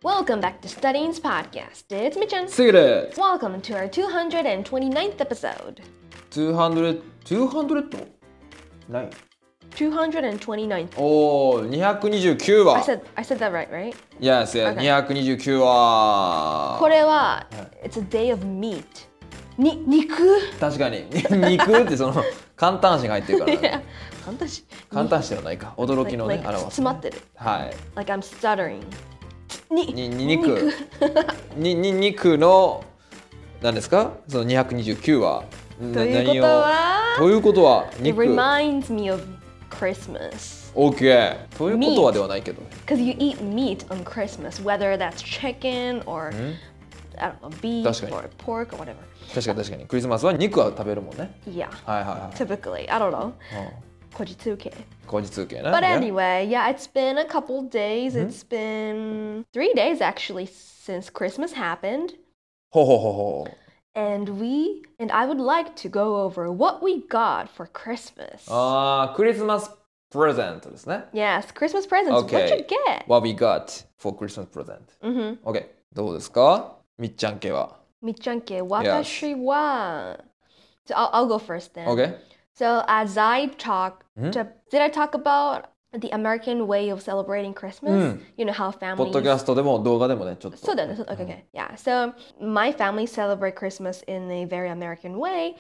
Welcome back to Studying's podcast. It's Michan. すぐる Welcome to our 229th episode. 200 209 229th. おー229話 I said that right? Yes, yes、 Okay. 229話これは、It's a day of meat. 肉確かに肉ってその簡単詞が入ってるからね簡単詞ではないか驚きのね like 表す、 詰まってる。 はい Like I'm stuttering. 肉の何ですかその229話ということは肉 It reminds me of Christmas. OK ということはではないけど Because you eat meat on Christmas, whether that's chicken or I don't know, beef 確かに or pork or whatever. 確かにクリスマスは肉は食べるもんね Yeah. はいはいはい Typically, I don't know. うんこじつけ。 後日受けね But anyway, yeah, it's been a couple days. It's been 3 days actually since Christmas happened. ほうほうほうほう And I would like to go over what we got for Christmas. あークリスマスプレゼントですね Yes, Christmas presents. Okay. What'd you get? What we got for Christmas present OK どうですかみっちゃん家はみっちゃん家、私は So I'll go first then. OK So as I did I talk about the American way of celebrating Christmas? You know how ポッド families キャストでも動画でもねちょっとそうだよね。Okay. Yeah. So my family celebrate Christmas in a very American way,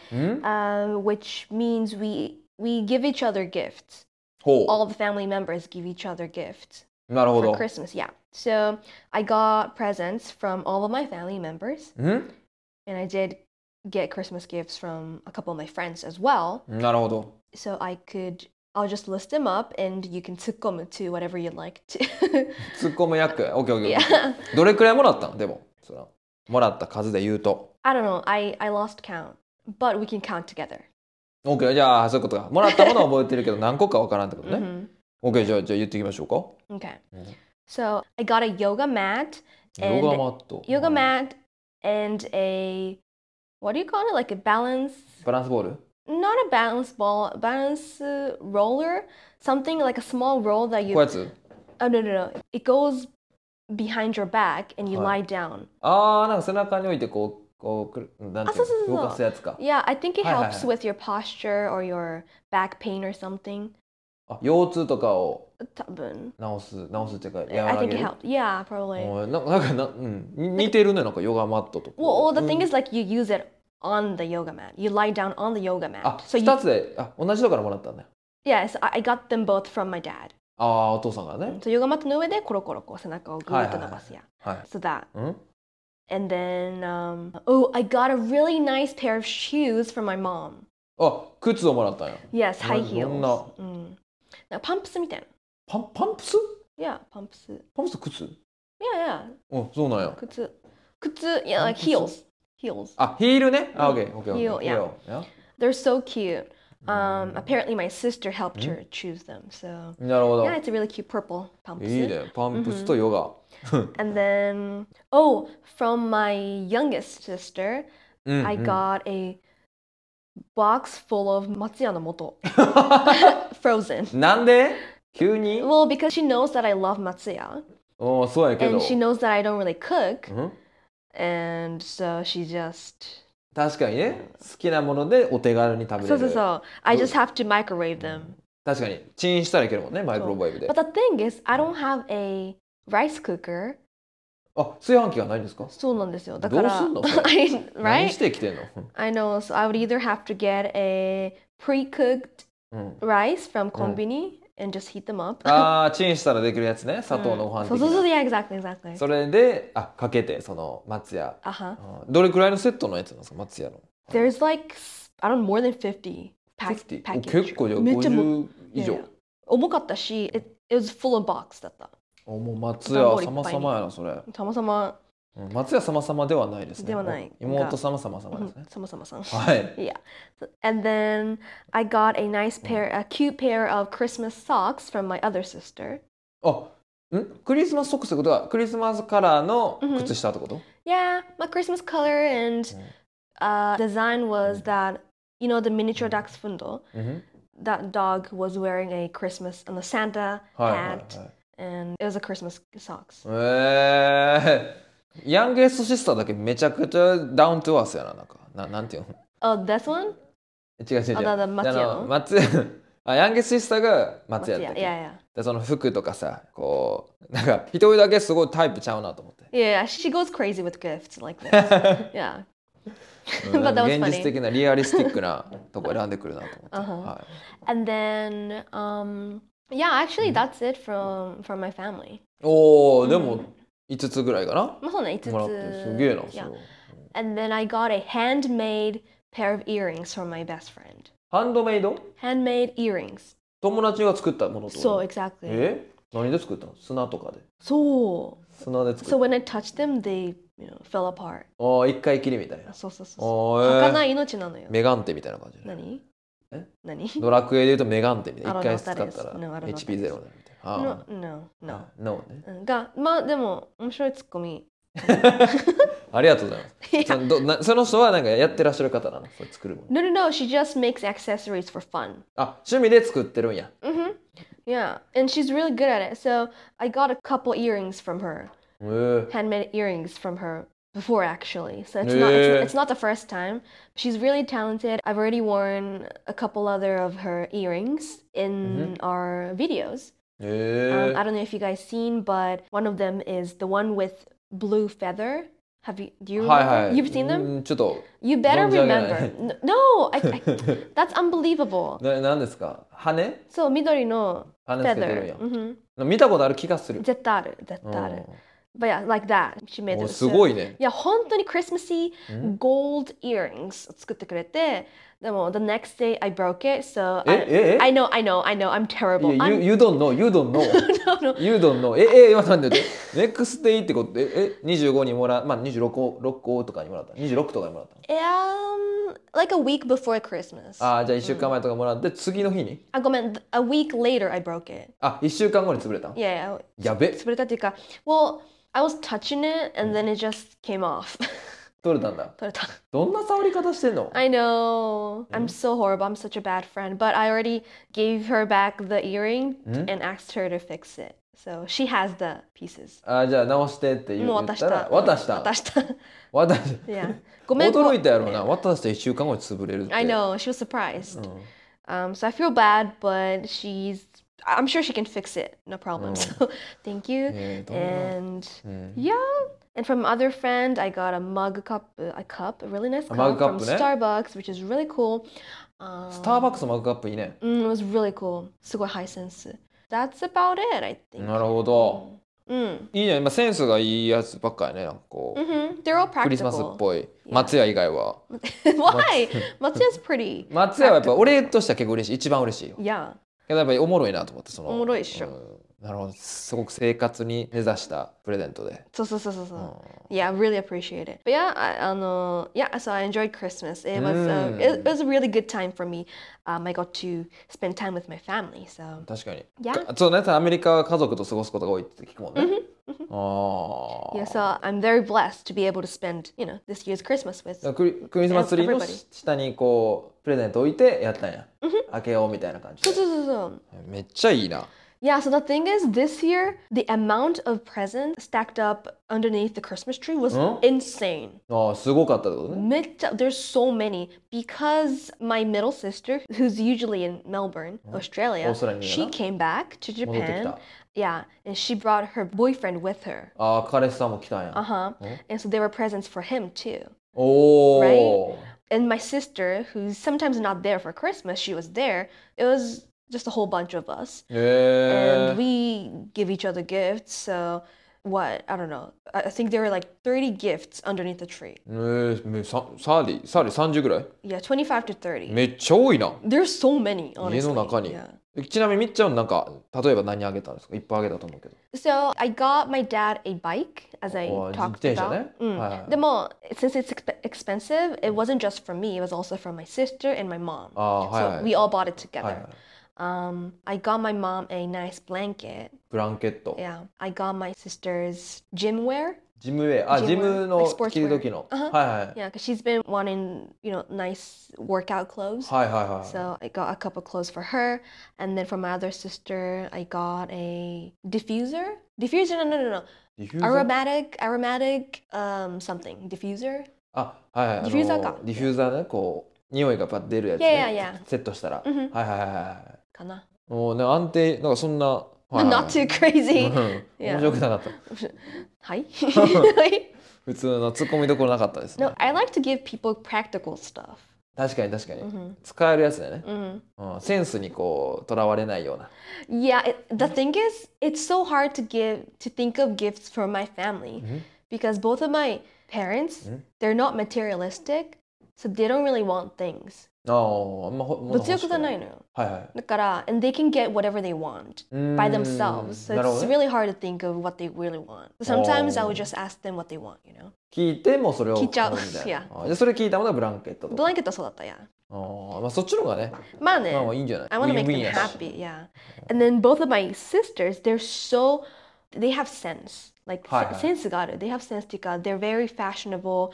which means we give each other gifts. ほ All the family members give each other gifts うなるほ for ど Christmas. Yeah. So I got presents from all of my family members, and I did get Christmas gifts from a couple of my friends as well. なるほど So I'll just list them up, and you can 突っ込む to whatever you'd like to. ツッコむ役 OK Yeah. どれくらいもらったのでもそのもらった数で言うと I don't know. I lost count, but we can count together. OK じゃあそういうことかもらったものは覚えてるけど何個かわからんってことね OK じゃあ言っていきましょうか Okay. So I got a yoga mat ヨ and ガマット yoga mat and a what do you call it? Like a balance, バランスボール not a balance ball, balance roller, something like a small roll that こう you. やつ Oh no. It goes behind your back and you lie down. あーなんか背中に置いてこうなんていうそうの動かすやつか Yeah, I think it はいはいはい。 helps with your posture or your back pain or something. あ腰痛とかを多分治すっていうか和 I ら think げ it る helped. Yeah, probably. おい似てるねなんかヨガマットと Well, the thing is like you use it on the yoga mat. You lie down on the yoga mat. あ So 2つで同じ人からもらったんだよ yes, I got them both from my dad. ああお父さんがね So ヨガマットの上でコロコロこう背中をぐーっと伸ばすや。 はい So that. うん And then I got a really nice pair of shoes from my mom. あ靴をもらったんや Yes, high どんな heels. なんかパンプスみたいな。 パンプス Yeah, パンプス。 靴 Yeah. おそうなんや靴。Yeah, like heels. Heels. あヒールねあオッケー Heel, yeah. They're so cute. Apparently my sister helped her choose them. So なるほど yeah, it's a really cute purple パンプス。 いいねパンプスとヨガ And then, from my youngest sister, I got a box full of 松屋の素 frozen. なんで急に Well, because she knows that I love 松屋おそうやけど and she knows that I don't really cook, うん and so she just 確かにね好きなものでお手軽に食べれる so I just have to microwave them. 確かにチンしたらいけるもんねマイクロウェーブで But the thing is, I don't have a rice cooker. あ炊飯器がないんですかそうなんですよ。だからどうすんのそれ 何 right? してきてんの I know, so I would either have to get a pre-cooked rice from コンビニ and just heat them up. あーチンしたらできるやつね砂糖のご飯的そう、 な yeah, exactly. それでかけてその松屋 Uh-huh. どれくらいのセットのやつなんですか松屋の There's like, I don't know, more than 50 50 package. 結構じゃあめっちゃ 50以上 Yeah. 重かったし、it was full of box だった。 もう松屋様々やなそれたまたま松屋様々ではないですねではない妹様様々ですねさまさまさん。 はい Yeah. And then I got a cute pair of Christmas socks from my other sister. クリスマスソックスってことはクリスマスカラーの靴下ってこと Yeah, my Christmas color and design was that, you know, the miniature Dachshund. That dog was wearing a Christmas and the Santa hat and it was a Christmas socks. ヤンゲストシスターだけめちゃくちゃダウントゥアースやな、なんていうの Oh, this one? 違う違う違う。 松屋の松屋。ヤンゲストシスターが松屋だっけ。 Yeah, yeah. でその服とかさ、こう、なんか一人だけすごいタイプちゃうなと思って。 Yeah, she goes crazy with gifts like this. Yeah. But that was funny. 現実的なリアリスティックなとこ選んでくるなと思って。はい。 And then, yeah, actually that's it from my family. おお、でも5つぐらいかな。 まあそうね、5つ。 もらってすげえな。 Yeah. And then I got a handmade pair of earrings from my best friend. ハンドメイド Handmade earrings. 友達が作ったものと。 そう、exactly. 何で作ったの？砂とかで。 そう。 砂で作った。 So when I touched them, they, fell apart. 一回きりみたいな。 そうそうそう。儚い命なのよ。 メガンテみたいな感じ。 何？ ドラクエで言うとメガンテみたいな。一回使ったら HP ゼロだみたいな。No ね。 まあでも面白いツッコミ。 ありがとうございます。その人はなんかやってらっしゃる方なの？それ作るもの。 No, she just makes accessories for fun. 趣味で作ってるんや。 Yeah, and she's really good at it. So I got a couple earrings from her. Handmade earrings from her before actually. So it's not the first time. She's really talented. I've already worn a couple other of her earrings in our videos. I don't know if you guys seen, but one of them is the one with blue feather. Do you remember? You've seen them? You better remember. No, that's unbelievable. 何ですか？羽？ そう、緑の feather。見たことある気がする。 絶対ある。But yeah, like that. She made it. すごいね。 いや、本当に Christmassy gold earrings を作ってくれて、でも the next day I broke it, so I know, I'm terrible. You don't know. You don't know. 今なんでnext day ってことで25にもらう、まあ26個とかにもらった。26とかにもらった。 Like a week before Christmas. じゃあ1週間前とかもらって次の日に？ ごめん、a week later I broke it. 1週間後に潰れた？ Yeah. やべ。 潰れたっていうか、well, I was touching it and then it just came off. 取れたんだ。 取れた。 どんな触り方してんの？ I know. I'm so horrible. I'm such a bad friend. But I already gave her back the earring and asked her to fix it. So she has the pieces. じゃあ直してって言ったら渡した。Yeah. ごめん。 驚いたやろな。渡して1週間後に潰れるって。 I know. She was surprised. So I feel bad, but I'm sure she can fix it. No problem. So thank you. And yeah. And from other friend, I got a really nice cup from Starbucks, which is really cool. スターバックスのマグカップいいね。 It was really cool. すごいハイセンス。That's about it, I think. なるほど。いいね。今センスがいいやつばっかりね。なんかこう。 They're all practical. クリスマスっぽい。松屋以外は。 Why? 松屋 is pretty. 松屋はやっぱ俺としては結構嬉しい。一番嬉しいよ。 Yeah. けどやっぱりおもろいなと思って。 おもろいっしょ。 なるほど。すごく生活に根ざしたプレゼントで。 そう。Yeah, I really appreciate it. But yeah, so I enjoyed Christmas. It was a really good time for me. I got to spend time with my family. So 確かに。 Yeah. そうね。アメリカは家族と過ごすことが多いって聞くもんね。 Yeah, so I'm very blessed to be able to spend, this year's Christmas with クリスマスツリーの下にこうプレゼント置いてやったんや。開けようみたいな感じで。 そう。 めっちゃいいな。 Yeah, so the thing is, this year, the amount of presents stacked up underneath the Christmas tree was insane. すごかったってことね。 There's so many. Because my middle sister, who's usually in Melbourne, Australia, she came back to Japan. Yeah, and she brought her boyfriend with her. 彼氏さんも来たんや。 And so there were presents for him too. Right? And my sister, who's sometimes not there for Christmas, she was there. It was just a whole bunch of us. And we give each other gifts. So I don't know. I think there were like 30 gifts underneath the tree. 30ぐらい？ Yeah, 25 to 30. めっちゃ多いな。 There's so many, honestly. 家の中に。ちなみにみっちゃんなんか例えば何あげたんですか？いっぱいあげたと思うけど。 So I got my dad a bike, as I talked about. でも since it's expensive, it wasn't just for me. It was also for my sister and my mom. So we all bought it together. I got my mom a nice blanket. ブランケット。 Yeah. I got my sister's gym wear. ジムウェア。あ、ジムの着る時の。はいはい。 Yeah, because she's been wanting, nice workout clothes. はいはいはい。 So I got a couple clothes for her. And then for my other sister, I got a diffuser. Diffuser? No. Aromatic, something. Diffuser? あ、はいはい。 ディフューザーか。 ディフューザーね、こう、匂いがパッ出るやつね。セットしたら。はいはいはい。 かな。 もうね、安定、なんかそんな。 Not too crazy. 面白くなかった。 はい。 普通の突っ込みどころなかったですね。 No, I like to give people practical stuff. 確かに確かに。使えるやつだよね。センスにこう、とらわれないような。 Yeah, the thing is, it's so hard to think of gifts for my family. Because both of my parents, they're not materialistic, so they don't really want things. 物欲がないのよ。だから、and they can get whatever they want by themselves. So it's really hard to think of what they really want. Sometimes I would just ask them what they want, 聞いてもそれを聞いちゃう。 じゃあそれ聞いたものはブランケットとか。 ブランケットはそうだったや。 まあそっちの方がね。 まあね。 まあいいんじゃない。 I want to make them happy, yeah. And then both of my sisters, they have sense. Like sense がある。They have sense っていうか、they're very fashionable.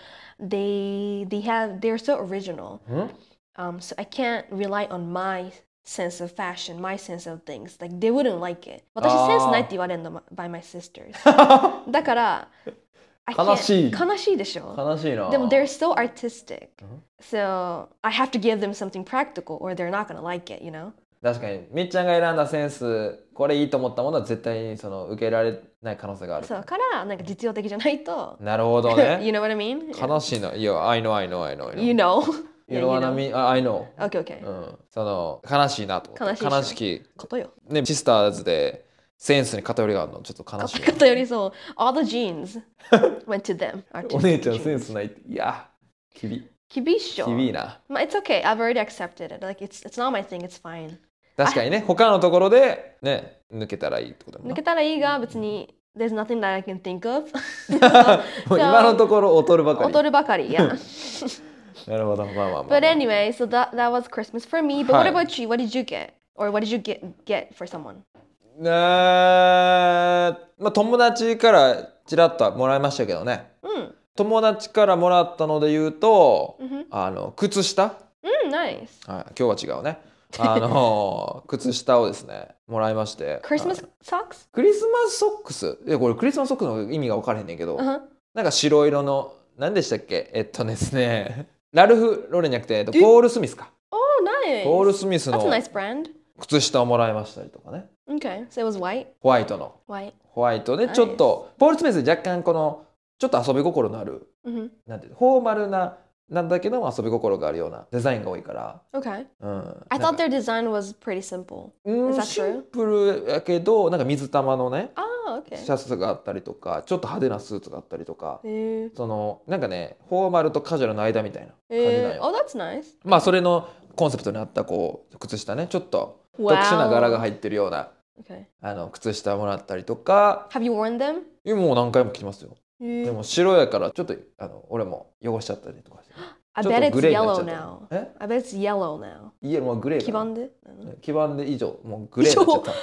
They're so original. So I can't rely on my sense of fashion, my sense of things. Like they wouldn't like it. 私センスないって言われるの by my sisters. だから、 悲しい。 悲しいでしょ。 悲しいな。 でも they're so artistic. So I have to give them something practical or they're not gonna like it, 確かにみっちゃんが選んだセンスこれいいと思ったものは絶対にその受けられない可能性がある。 そうからなんか実用的じゃないと。 なるほどね。 You know what I mean? 悲しいな。いや、I know. You know. You know what I mean? I know. Okay. その悲しいなと思って。悲しき。 ことよ。 ね、シスターズでセンスに偏りがあるのちょっと悲しい。 偏りそう。All the genes went to them. お姉ちゃんセンスないって。いや、厳しいな。 まあ、it's okay. I've already accepted it. Like it's not my thing. It's fine. 確かにね、他のところでね、抜けたらいいってことだもんな。 抜けたらいいが別に there's nothing that I can think of. 今のところ劣るばかり。 劣るばかり、yeah. なるほど、まあ。 But anyway, so that was Christmas for me. But what about you? What did you get? Or what did you get for someone? まあ友達からちらっともらいましたけどね。友達からもらったので言うと、靴下。 Nice. はい、今日は違うね。靴下をですねもらいまして。 クリスマスソックス？ クリスマスソックス。いやこれクリスマスソックスの意味が分からへんねんけど、なんか白色の何でしたっけ？ですね、ラルフ・ロレンじゃなくてポール・スミスか。 Oh, nice. ポール・スミスの That's a nice brand. 靴下をもらいましたりとかね。 Okay, so it was white. ホワイトの。ホワイトでちょっとポール・スミス若干このちょっと遊び心のある、なんていうフォーマルなんだけども遊び心があるようなデザインが多いから。 Okay. I thought their design was pretty simple. Is that true? シンプルやけどなんか水玉のね、 okay. シャツがあったりとか、ちょっと派手なスーツがあったりとか、そのなんかねフォーマルとカジュアルの間みたいな感じなんよ。 Oh, that's nice. まあそれのコンセプトにあったこう靴下ね、ちょっと特殊な柄が入ってるような、靴下もらったりとか。 Have you worn them? もう何回も着てますよ。でも白やからちょっと俺も汚しちゃったりとかして。 I bet it's yellow now. I bet it's yellow now. いやもうグレー。 黄ばんで？ 黄ばんで以上もうグレーになっちゃった。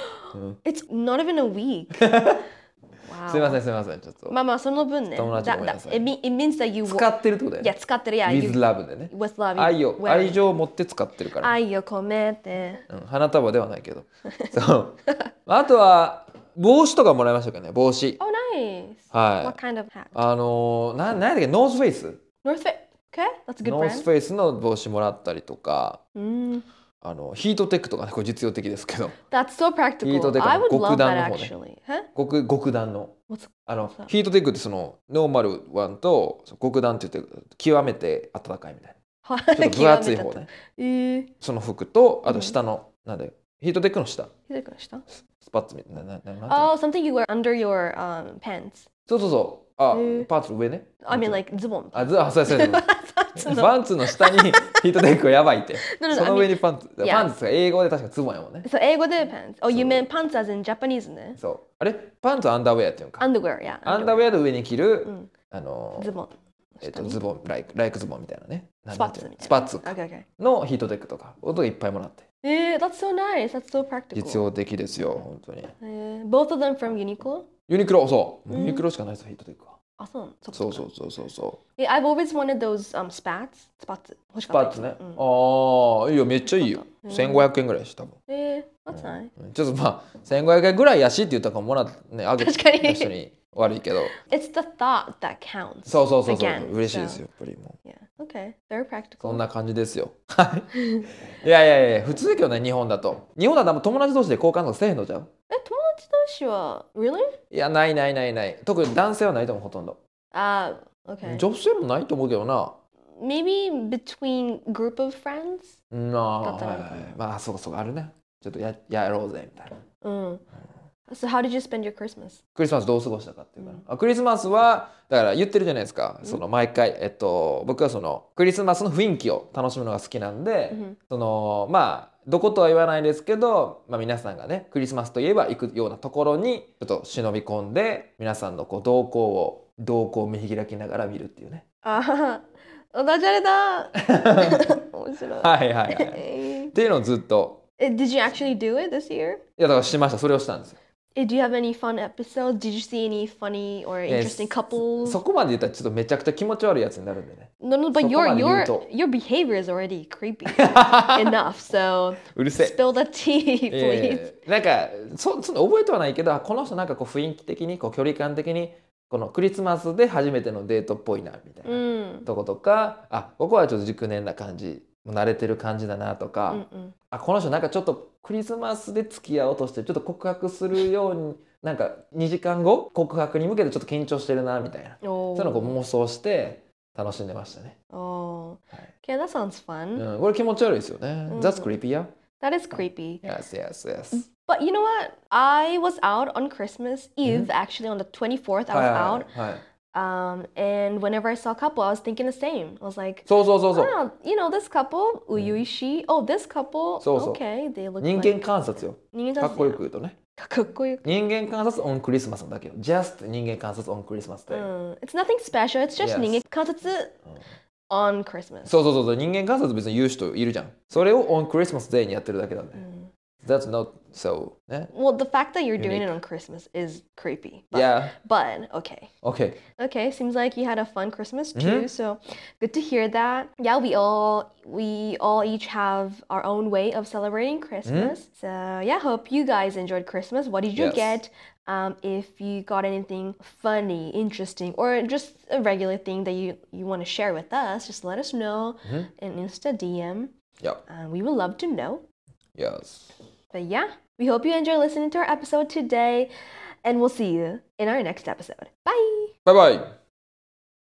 It's not even a week. すみませんちょっと。 まあその分ね。 友達ごめんなさい。 It means that you 使ってるってことだよね。 いや使ってるや。 With love でね。 With love. 愛情を持って使ってるから。 愛を込めて。 花束ではないけど。そう。あとは帽子とかもらいましたけどね。帽子。 Oh nice. はい。 What kind of hat? なんだっけ、ノースフェイス。 North Face. Okay, that's a good brand. ノースフェイスの帽子もらったりとか。ヒートテックとかね、これ実用的ですけど。 That's so practical. ヒートテックの極暖の方ね。極暖の。ヒートテックってそのノーマルワンと極暖って言って極めて暖かいみたいな。ちょっと分厚い方ね。その服とあと下のなんでヒートテックの下。 ヒートテックの下？ スパッツみたいな。 Oh, something you wear under your pants. そう。パンツの上ね。 I mean like ズボン。 そう。パンツの下にヒートテックはやばいって。その上にパンツ。パンツが英語で確かズボンやもんね。 そう、英語でパンツ。Oh, you mean pants as in Japanese ね。 そう。あれパンツはアンダーウェアっていうのか。 Underwear, yeah. アンダーウェアの上に着る、 ズボン。 ズボン、ライクズボンみたいなね。 スパッツみたいな。 スパッツのヒートテックとか、音がいっぱいもらって。 That's so nice. That's so practical. 実用的ですよ、本当に。 Both of them from Uniqlo? ユニクロ、そう。ユニクロしかないです、ヒートテックは。 そうそうそうそうそう。 Yeah, I've always wanted those spats. スパッツね。ああ、いいよ、めっちゃいいよ。1500円ぐらいし、多分。 that's nice. ちょっとまあ、1500円ぐらいやしって言ったからもらってね、あげた人に悪いけど。 It's the thought that counts. そうそうそうそう。嬉しいですよ、やっぱりもう。 Yeah, okay. Very practical. そんな感じですよ。いやいやいや、普通だけどね、日本だと。日本だと友達同士で交換とかせえへんのじゃん。 友達同士は Really? いや、ないないないない。特に男性はないと思う、ほとんど。 Okay. 女性もないと思うけどな。 Maybe between group of friends? まあ、そうかそうか、あるね。ちょっとやろうぜ、みたいな。 So how did you spend your Christmas? クリスマスどう過ごしたかっていうか、クリスマスはだから言ってるじゃないですか、その毎回、僕はそのクリスマスの雰囲気を楽しむのが好きなんで、そのまあどことは言わないですけど、まあ、皆さんがねクリスマスといえば行くようなところにちょっと忍び込んで皆さんのこう動向を見開きながら見るっていうね。 ああ、ダジャレだ。面白い。 はいはいはい。っていうのをずっと。 Did you actually do it this year? いやだからしました。それをしたんですよ。 Do you have any fun episodes? Did you see any funny or interesting couples? そこまで言ったらちょっとめちゃくちゃ気持ち悪いやつになるんでね。 No, but your behavior is already creepy enough. So うるせえ。 Spill the tea, please. なんかその覚えてはないけど、この人なんかこう雰囲気的にこう距離感的にこのクリスマスで初めてのデートっぽいなみたいなとことか、ここはちょっと熟年な感じ。慣れてる感じだなとか、この人なんかちょっとクリスマスで付き合おうとしてちょっと告白するようになんか2時間後告白に向けてちょっと緊張してるなみたいな、そういうのを妄想して楽しんでましたね。 Okay, that sounds fun. これ気持ち悪いですよね。That's creepy, yeah? That is creepy. Yes. But you know what? I was out on Christmas Eve, actually on the 24th, I was out. And whenever I saw a couple, I was thinking the same. I was like, oh, you know, this couple, uiuishi. Oh, this couple, okay, they look 人間観察よ。かっこよく言うとね。 かっこよく。 人間観察 on クリスマスだけよ。Just 人間観察 on クリスマスで。 It's nothing special. It's just 人間観察 on Christmas. そう。人間観察別に言う人いるじゃん。それを on Christmas Day にやってるだけなんで。That's not so. Well, the fact that you're doing it on Christmas is creepy. But okay. Okay, seems like you had a fun Christmas too. So good to hear that. Yeah, we all each have our own way of celebrating Christmas. So yeah, hope you guys enjoyed Christmas. What did you get? If you got anything funny, interesting, or just a regular thing that you want to share with us, just let us know in Insta DM. We would love to know. Yes. But yeah, we hope you enjoy listening to our episode today, and we'll see you in our next episode. Bye! Bye-bye!